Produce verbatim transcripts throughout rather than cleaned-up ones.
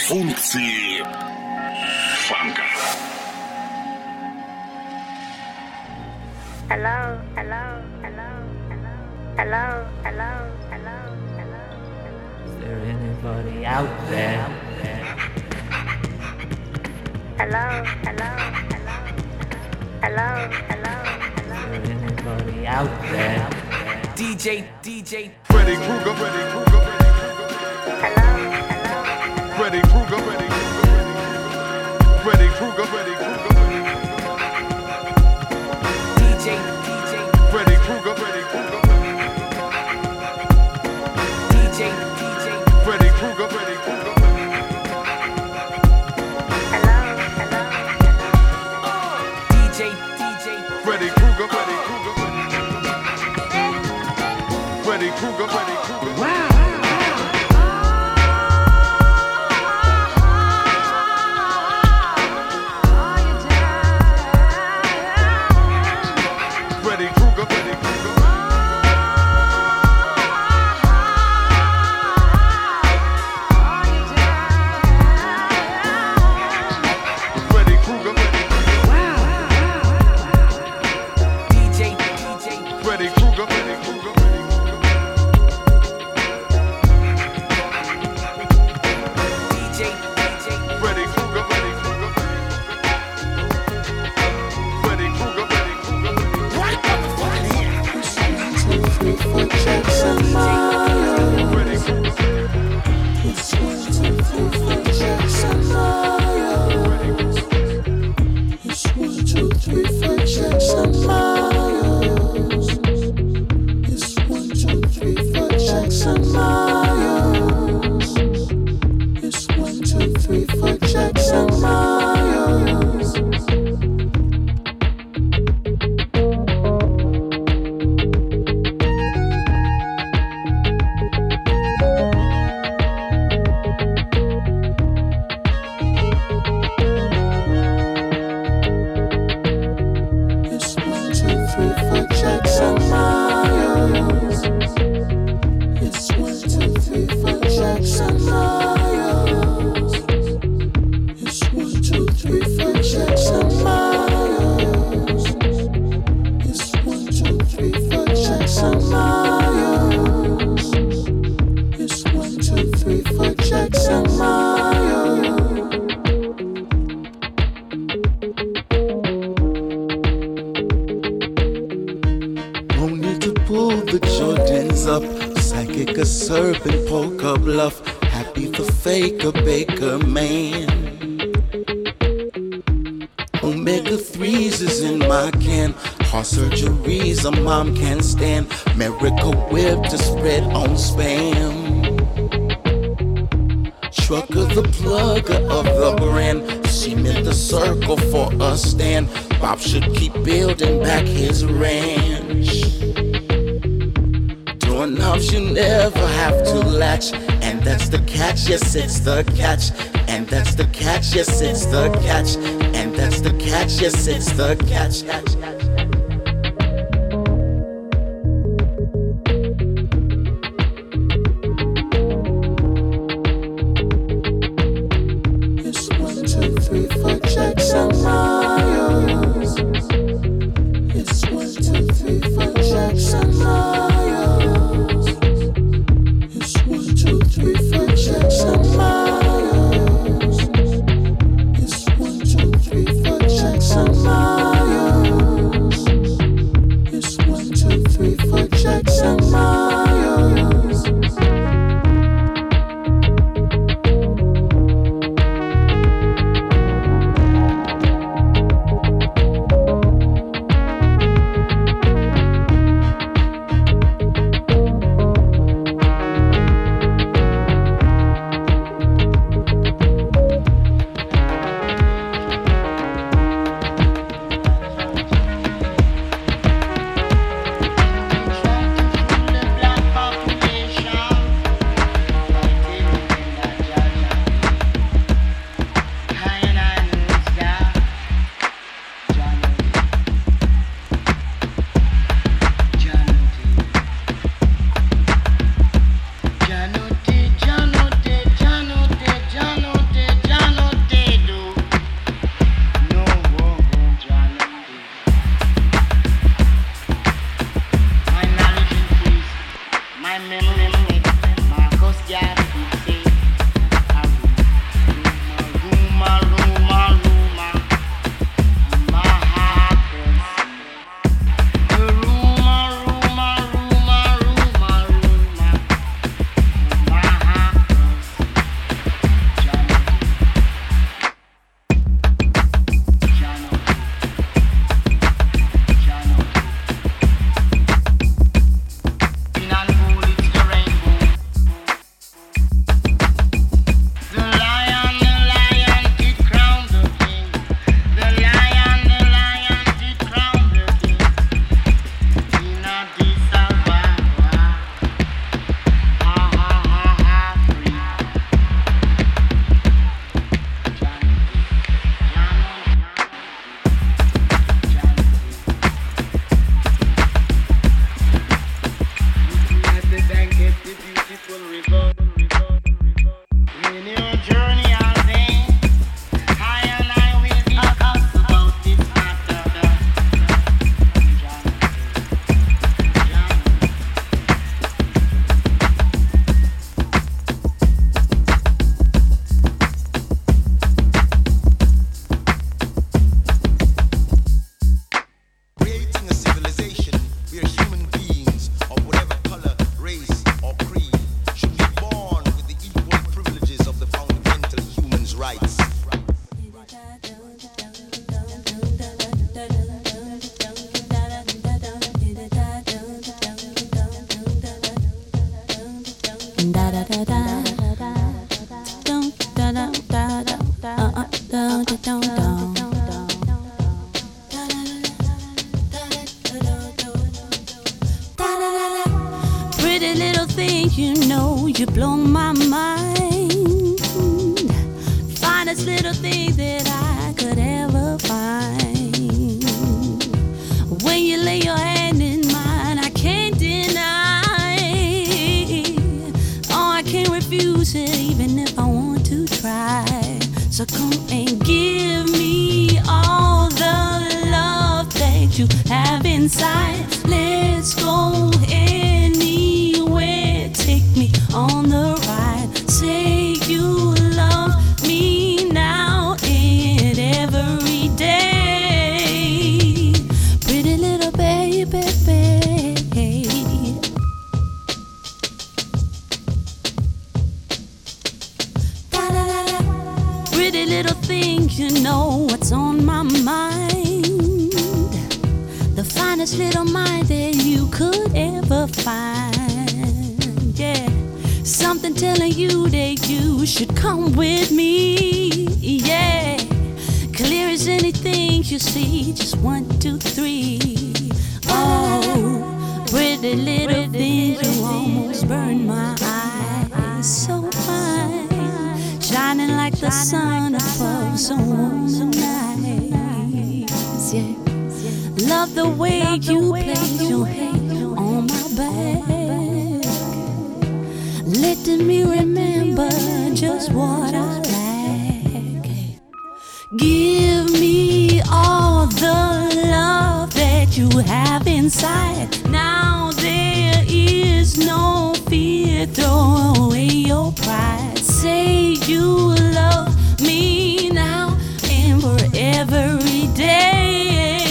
Функции фанка. Hello, hello, hello, hello, hello, hello, hello, hello. Is there anybody out there? Hello, hello, hello, hello, hello, hello. Is there anybody out there? D J, D J, Freddy Krueger, Freddy Krueger, Hello, hello, Freddy Krueger, Freddy Krueger, Freddy Krueger, Freddy Krueger, D J, D J, Freddy Krueger, Freddy Krueger, D J, D J, Freddy Krueger, Freddy Krueger, hello, hello, D J, D J, Freddy Krueger, Freddy Krueger, Freddy Krueger, Freddy Krueger. Wow. Mom can't stand Miracle Whip to spread on spam. Trucker the plugger of the brand. She meant the circle for a stand. Bob should keep building back his ranch. Doorknobs you never have to latch. And that's the catch, yes it's the catch. And that's the catch, yes it's the catch. And that's the catch, yes it's the catch. Jackson Miles. Pretty little thing, you know, you blow my mind. Finest little thing that I could ever find. When you lay your hand in mine, I can't deny. Oh, I can't refuse it, even if I want to try. So come and give me all the love that you have inside. Let's go anywhere, take me on the ride. Say you love me now and every day. Pretty little baby, baby. Pretty little thing, you know what's on my mind. The finest little mind that you could ever find. Yeah, something telling you that you should come with me. Yeah, clear as anything you see. Just one, two, three. Oh, pretty little thing, you almost burned my eyes. So fine, shining like the sun above so warm nights. Yeah, love the way you place your hand on my back, letting me remember just what I like. Give me all the love that you have inside. Now there is no fear, throw away your pride. Say you love me now and for every day.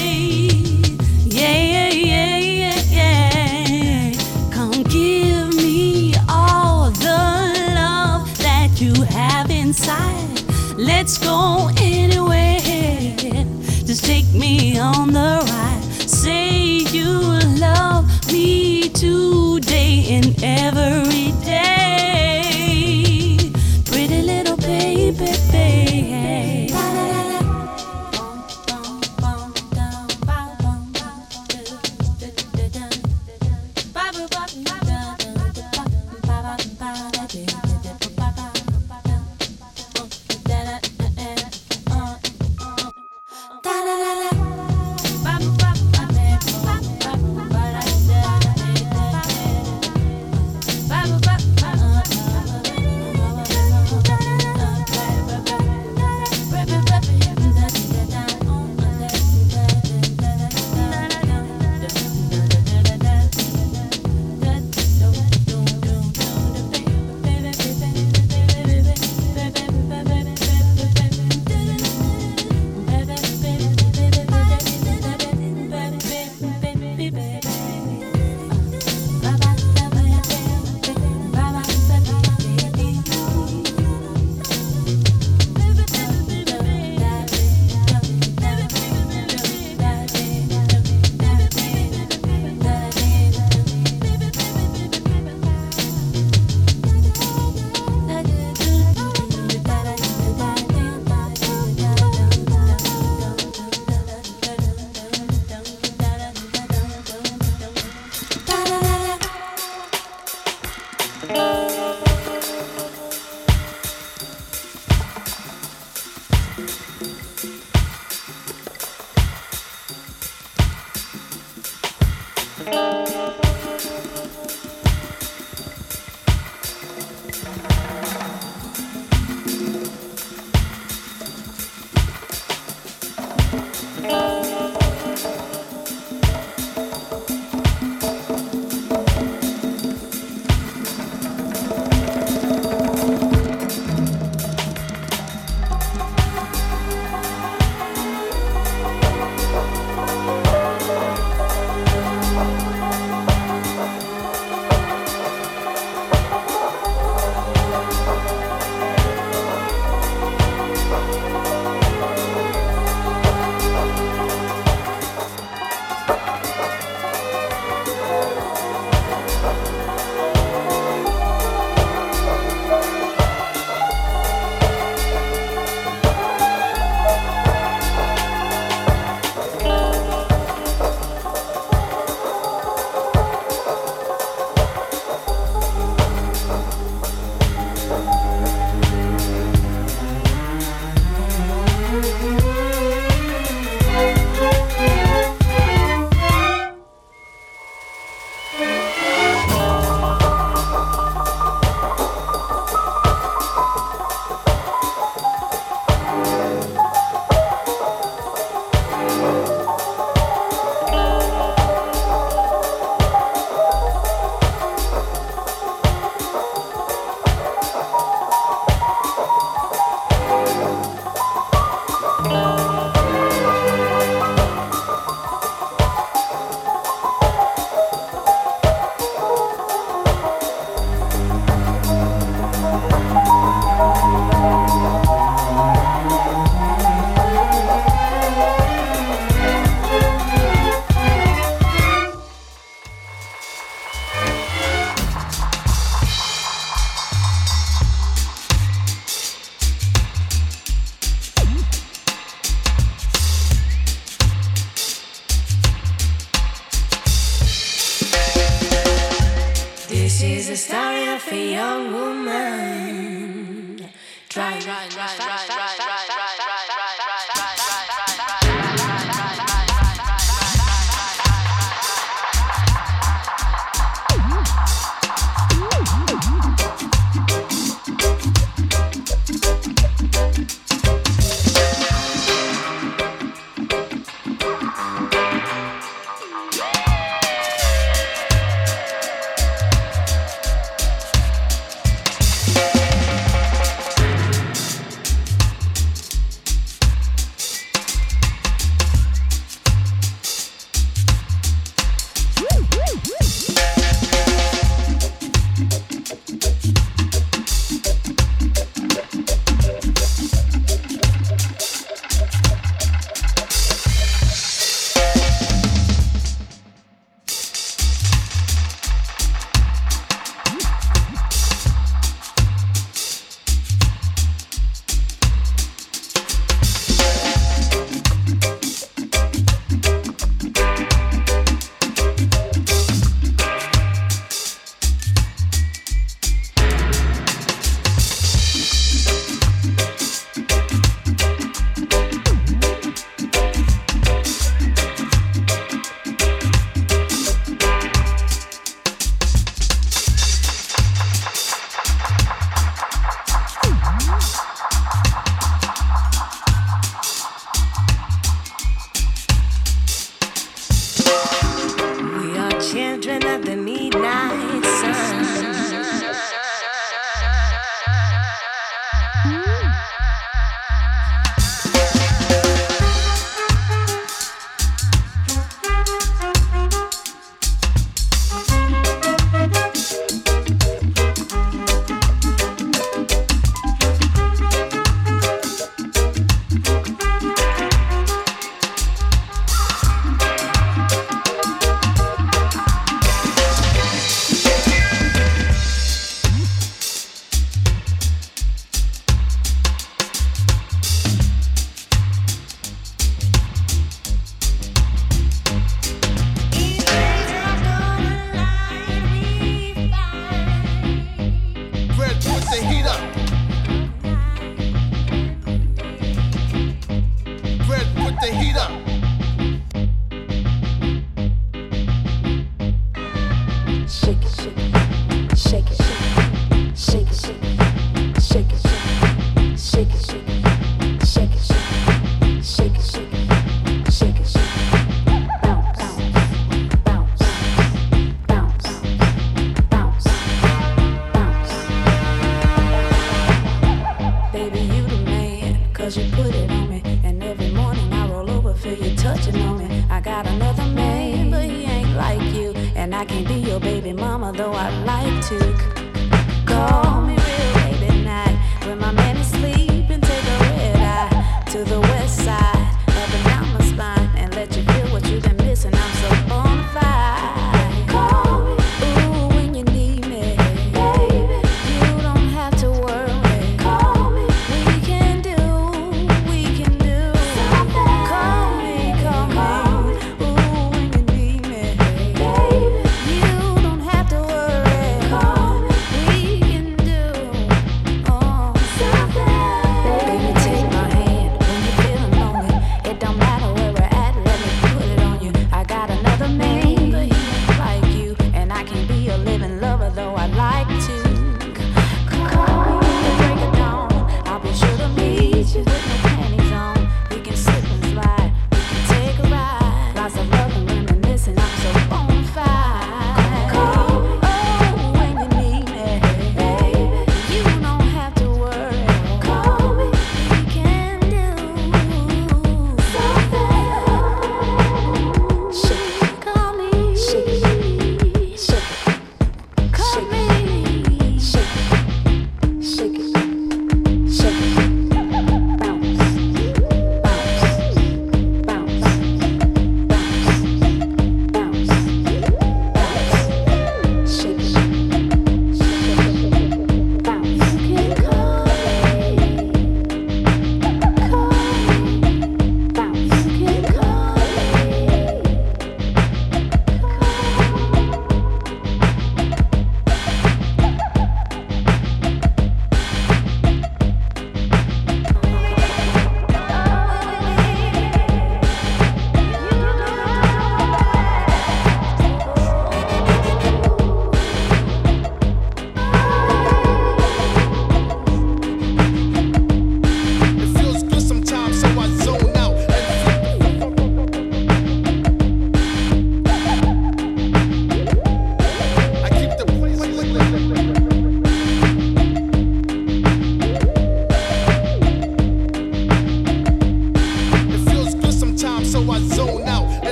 Yeah, yeah, yeah, yeah. Come give me all the love that you have inside. Let's go anywhere, just take me on the ride. Say you love me today and every day. Pretty little baby, baby. Bye. for young woman. Try, try, try, try, try, try, try, try, Baby, take my hand when you're feeling lonely.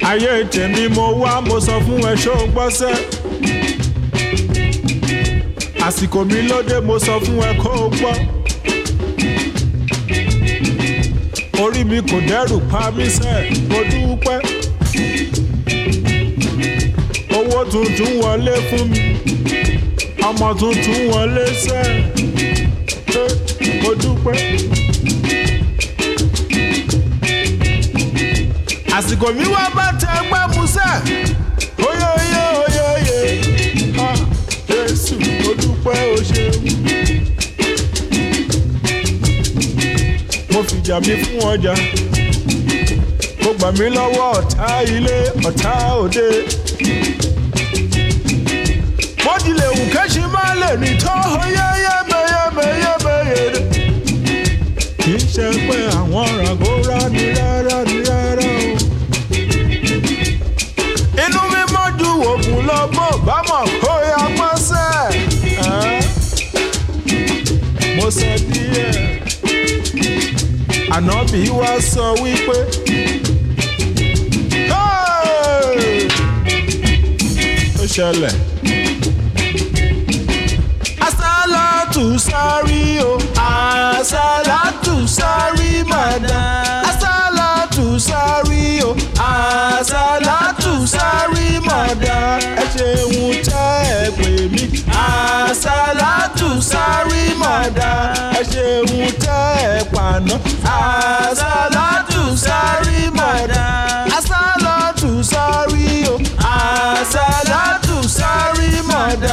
ayé tèmi mo wá mo sọ fún ẹ ṣó gbọ́sẹ́ àsìkò mi lóde mo sọ fún ẹ kó gbọ́ orí mi kò dẹ́rù pa mí sẹ́ mo dúpẹ́ owó tuntun wọlé fún mi ọmọ tuntun wọlé sẹ́ mo dúpẹ́ àsìkò mi wá bá tẹ gbẹ́ musẹ́ oyè oyè oyè oyè ha Jésù mo dúpẹ́ o ṣeun mo fìjà mi fún ọjà mo gbà mí lọ́wọ́ ọ̀tá ilé ọ̀tá òde mo dilẹ̀ wù kẹ́sì máa lè ní tó yẹ́yẹ́mẹ́yẹ́mẹ́yẹ́mẹ́yẹ́ kì í ṣe pé àwọn ràgó rání rárá ní rárá o inú mi mọ́jú òògùn lọ bó bá mọ̀ kó yá pọ́sẹ̀ mo sọ díẹ̀ ànábì wá sọ wípé ó ṣẹlẹ̀ asálàtù sárí o asálàtù sárí màdá asálàtù sárí o asálàtù sárí màdá ẹ ṣeun tẹ́ ẹ pè mí asálàtù sárí màdá ẹ ṣeun tẹ́ ẹ pàná asálàtù sárí màdá asálàtù sárí o asálàtù sárí màdá.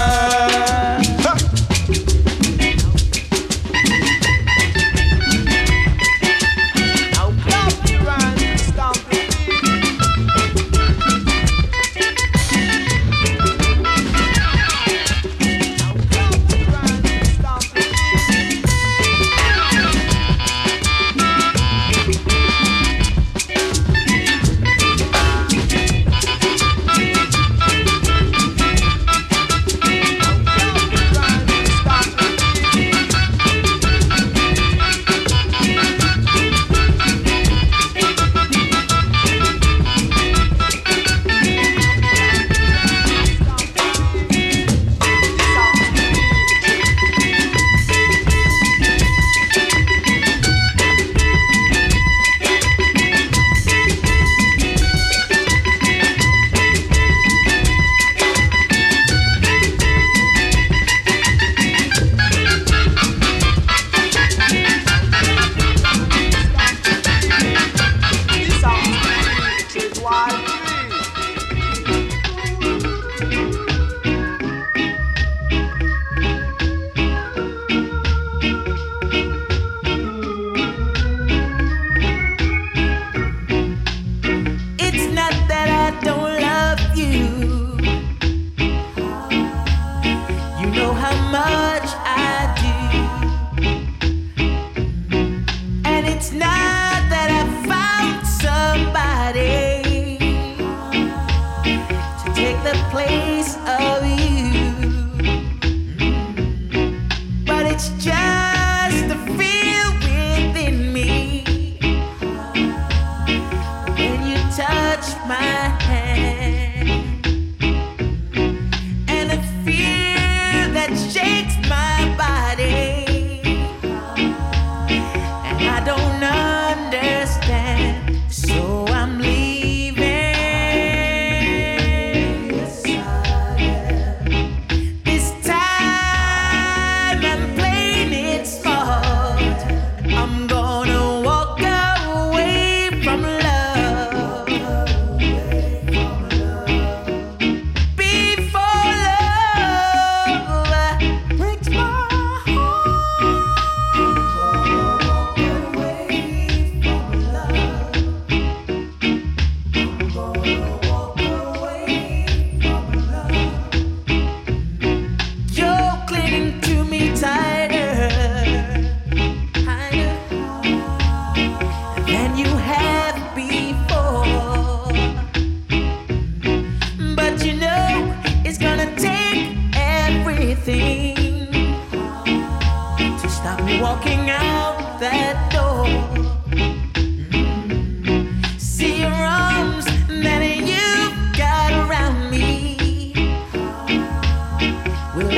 Walking out that door, see your arms, that ain't you.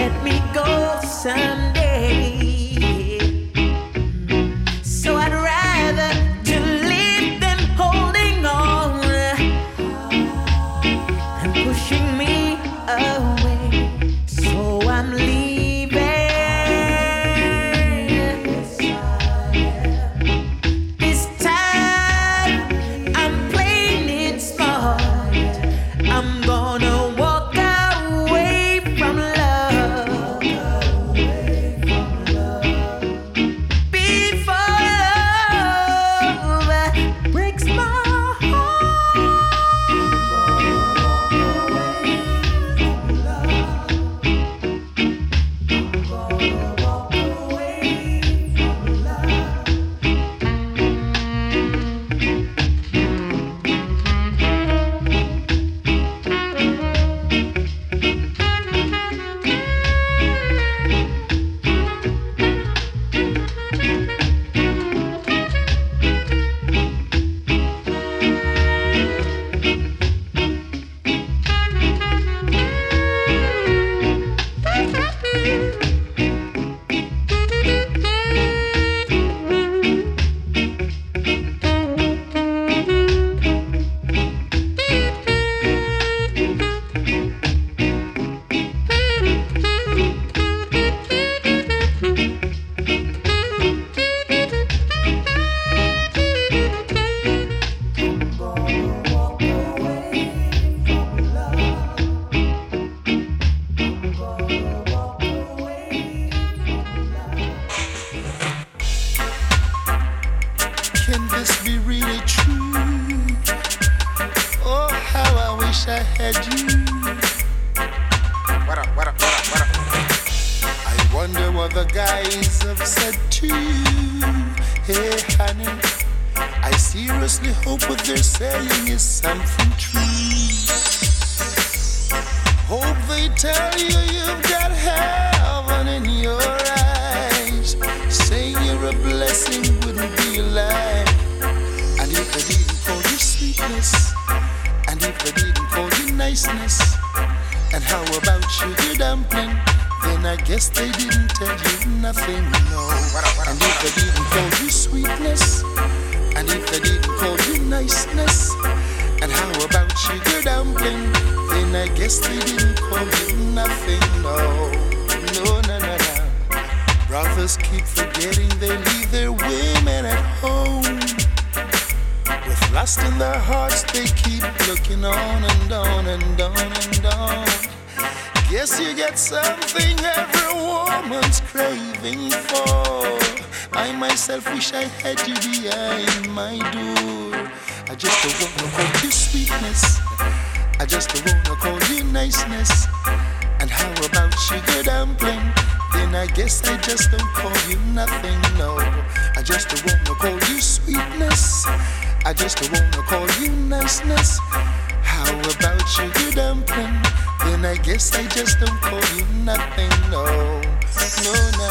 let me go someday. So I'd rather to live than holding on and pushing me away. So I'm leaving. This time I'm playing it smart. I'm gonna walk away from love before love breaks my Can this be really true? Oh, how I wish I had you. What up, what up, what up, what up? I wonder what the guys have said to you. Hey, honey, I seriously hope what they're saying is something true. Hope they tell you you've got heaven in your eyes. Saying you're a blessing wouldn't be a lie. And if they didn't call you sweetness, and if they didn't call you niceness, and how about sugar dumpling, then I guess they didn't tell you nothing, no. And if they didn't call you sweetness, and if they didn't call you niceness, and how about sugar dumpling, then I guess they didn't call you nothing, no. No, no, no, no. Brothers keep forgetting they leave their women at home. With lust in their hearts, they keep looking on and on and on and on. Guess you get something every woman's craving for. I myself wish I had you behind my door. I just don't wanna call you sweetness, I just don't wanna call you niceness. And how about sugar dumpling? Then I guess I just don't call you nothing, no. I just don't wanna call you sweetness, I just don't wanna call you niceness. How about sugar dumpling? Then I guess I just don't call you nothing, no. No, no.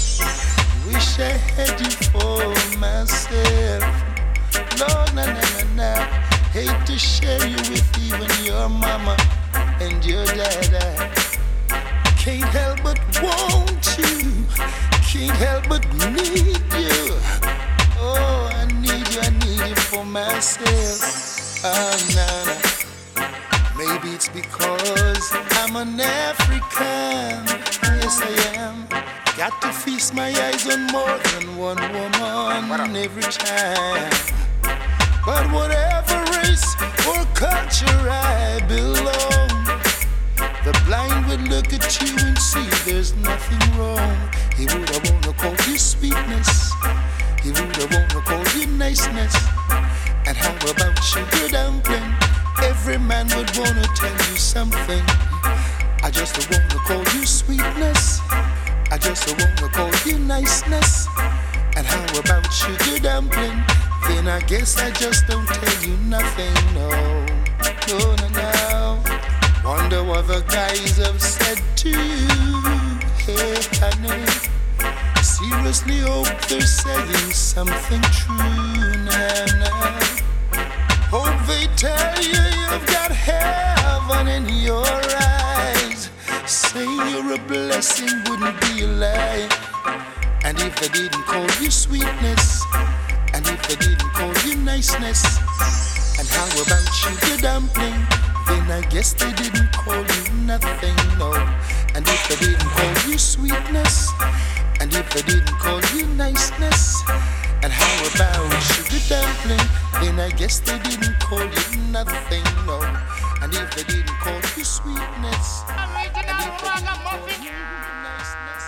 Wish I had you for myself. Lord, na na na na. Hate to share you with even your mama and your dada. Can't help but want you. Can't help but need you. Oh, I need you, I need you for myself. Ah, nah, nah. Maybe it's because I'm an African. Yes, I am. Got to feast my eyes on more than one woman every time. But whatever race or culture I belong, the blind would look at you and see there's nothing wrong. He would have wanna call you sweetness, he would have wanna call you niceness. And how about sugar dumpling? Every man would wanna tell you something. I just don't wanna call you sweetness, I just don't wanna call you niceness. And how about sugar dumpling? Then I guess I just don't tell you nothing, no. No, no, no. Wonder what the guys have said to you. Hey, honey, seriously hope they're saying something true now, now. Hope they tell you you've got heaven in your eyes. Say saying you're a blessing wouldn't be a lie. And if they didn't call you sweetness, and if they didn't call you niceness, and how about sugar dumpling, then I guess they didn't call you nothing, no. And if they didn't call you sweetness, and if they didn't call you niceness, and how about sugar dumpling, then I guess they didn't call you nothing, no. And if they didn't call you sweetness, and if they didn't call you niceness.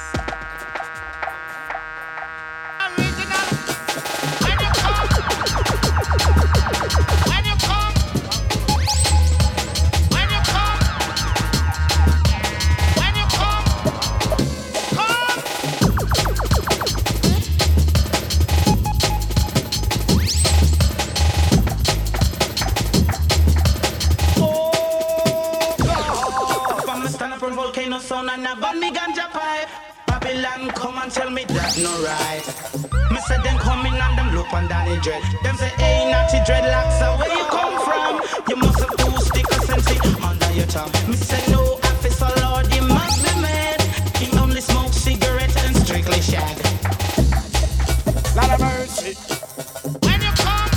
Sound and a ban me ganja pipe. Babylon come and tell me that's no right. Me say them coming and them look on Danny Dread. Them say hey naughty dreadlocks, so where you come from? You must have two stickers sensi under your tongue. Me say no officer Lord, you must be mad. He only smokes cigarettes and strictly shag. Lot of mercy. When you come,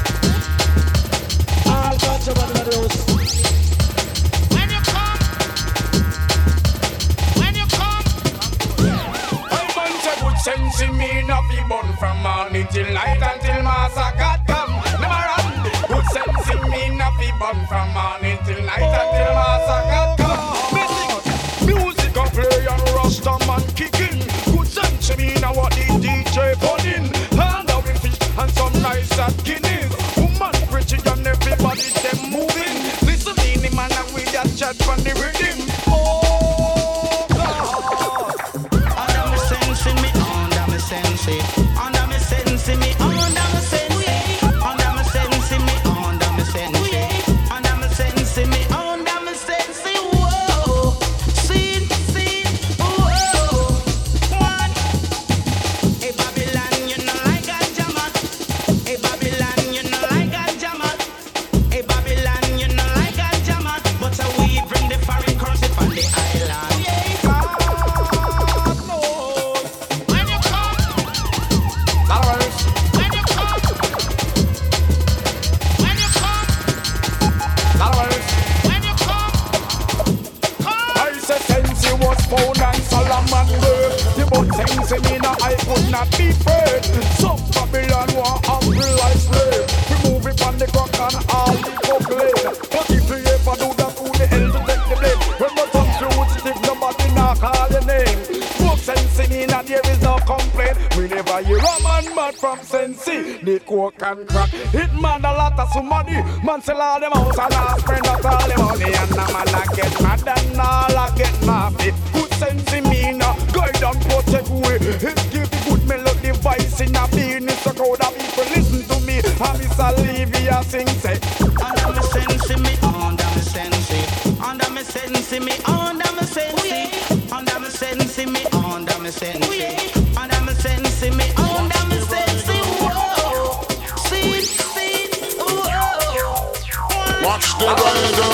all got you one of those. Sense in me not be born from morning till night until Master God come. Never run. Good sense in me not be born from morning till night until Master God come. Music, music a play and Rasta man kicking. Good sense in me now what the D J putting. Hand out with fish and some nice at Guinness. Woman preaching and everybody them moving. Listen in the man and we just chat from the rhythm. Oh God. Under me sense in me. Under me sense, under me sense, me under me sense, under me sense, me under me sense, under me sense, me under me sense. Whoa, see, see, whoa, one. Hey Babylon, you know like a jammer. Hey Babylon, you know like a jammer. Hey Babylon, you know like a jammer. But uh, we bring the foreign currency from the island. Phone and Solomon girl. The both things in me now I could not be afraid. Some Babylon want humble like slave. Remove it from the crack and all the cockblade. But if you ever do that, who the hell to take the blame? When the come through with stick, nobody now call your name. Both sense in me now there is no complaint. We never hear a man mad from Sensi. The coke and crack. It man a lot of somebody. Man sell all them house and all spend out all the money. And a man a get mad and all a get mad. Good sense in me now, guide and protect way. It give the good melody voice in a being. It's a crowd of people listen to me. And Miss Olivia sing say under me sense me, under me sense, under me sense me, under me sense, under me sense me, under me sense, under me sense me, under me sense. Whoa, see, see, whoa. Watch the rider.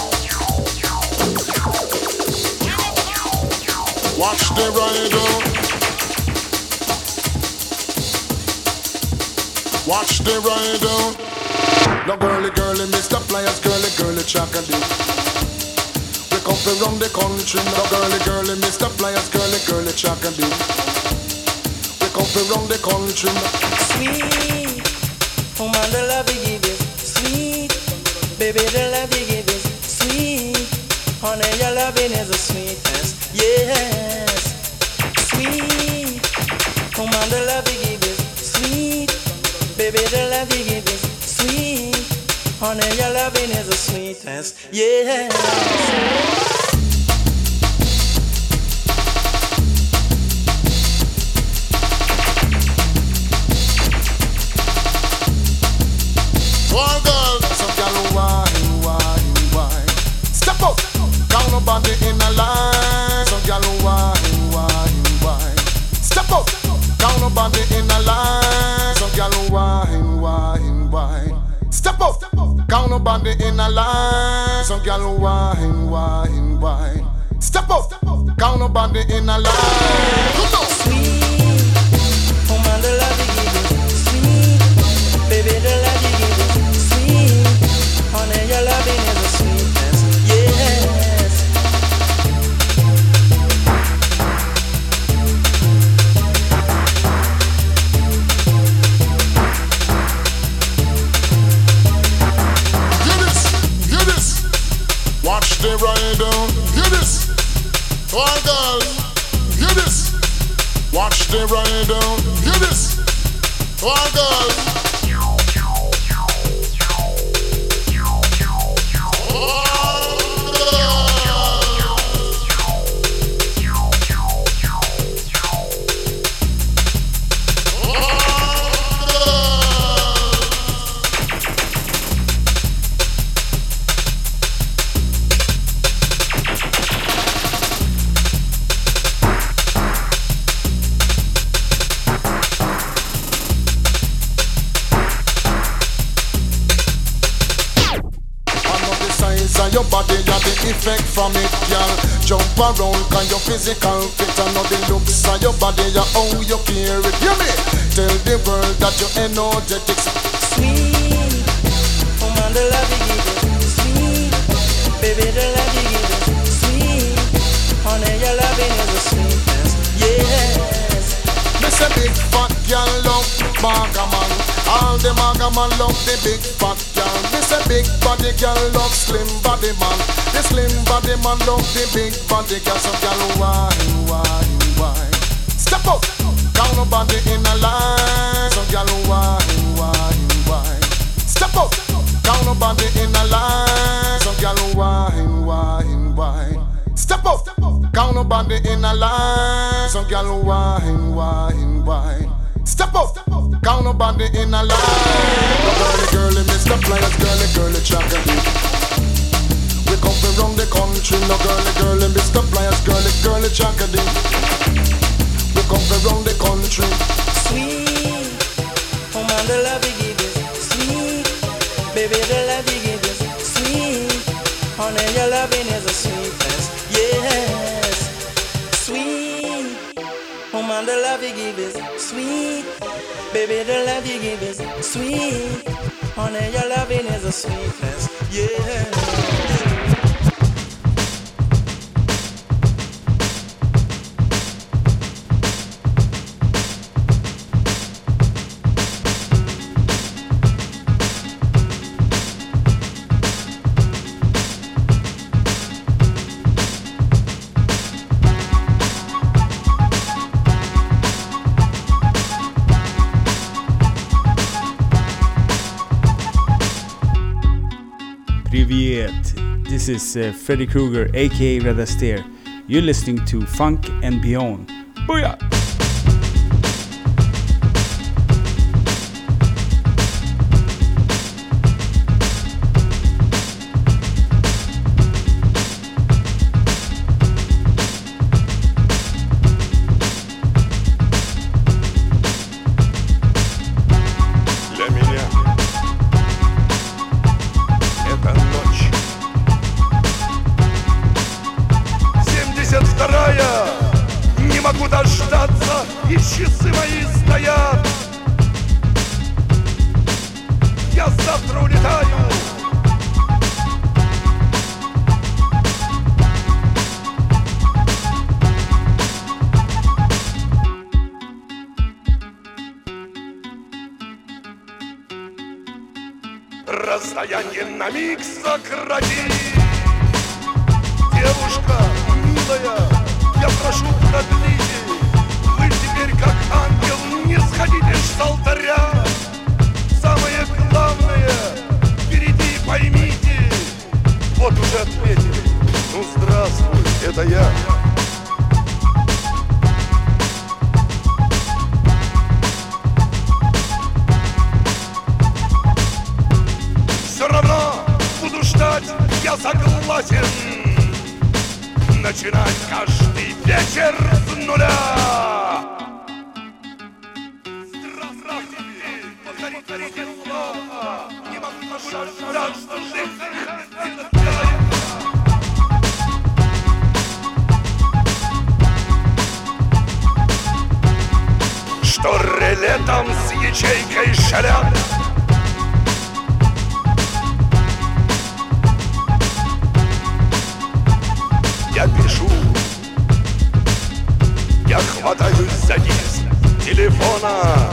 Watch the rider. Watch the rider. No girly, girly, Mister Pliers, girly, girly, chocolate. We come from around the country. No girly, girly, Mister Pliers, girly, girly, chocolate. We come from around the country. Sweet, oh man, the love you give is sweet. Baby, the love you give is sweet. Honey, your loving is the sweetest. Yes, sweet. Oh man, the love you give is sweet. Baby, the love you give is sweet. Honey, your loving is the sweetest. Yes. One girl, some girl wine, wine, wine. Step up, down nobody in a line. Some girl wine, wine, wine. Step up, down nobody in a line. Some girl wine, wine, wine. Step up, down nobody in a line. Some girl wine, wine, wine. Step up, count nobody in a line. Come on. Sweet, woman, the love you give is sweet. Baby, the love you give is sweet. Honey, your loving is a sweetness, yes. Hear this, hear this. Watch the ride down. Hear this. All girls, hear this. Watch the ride down. Hear this. All girls. Your body got the effect from it, girl. Jump around, cause your physical fit. I know the looks of your body, yeah, how you care it. Hear me? Tell the world that you're energetic. Sweet, woman, the love you give it sweet. Baby, the love you give it sweet. Honey, your loving is a sweetness, yes. Miss a big fat girl love maga man. All the maga man love the big fat girl. Miss a big body girl love slim body man. The slim body man love the big body girl. So girl wine, wine, wine. Step up, count nobody in a line. So girl wine, wine, wine. Step up, count nobody in a line. So girl wine, wine, wine. Step up, count nobody in a line. So girl wine, wine, wine. Step up, count nobody in a line. Girly, girly, Mister Pliers, girly, girly, chocolate. We come from round the country, no girly, girly, Mister Pliers, girly, girly, chocolate. We come from round the country. Sweet, woman, the love you give is sweet. Baby, the love you give is sweet. Honey, your loving is a sweetness, yes. Sweet, woman, the love you give is sweet. Baby, the love you give is sweet. Honey, your loving is a sweetness, yes. Привет! This is uh, Freddy Krueger, aka Red Astaire. You're listening to Funk and Beyond. Booyah! И часы мои стоят. Я завтра улетаю. Расстояние на миг сократи. Девушка милая, я прошу, продлите. Вы теперь как ангел, не сходите с алтаря. Самое главное, впереди поймите. Вот уже ответили. Ну здравствуй, это я. Все равно буду ждать, я согласен. Начинать каждый вечер с нуля. Здравствуйте, повторите слово. Не могу ждать, что жизнь это делает. там с ячейкой шалят. Я пишу, я хватаюсь за низ телефона.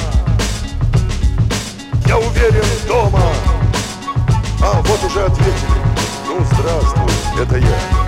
Я уверен, дома. А, вот уже ответили. Ну, здравствуй, это я.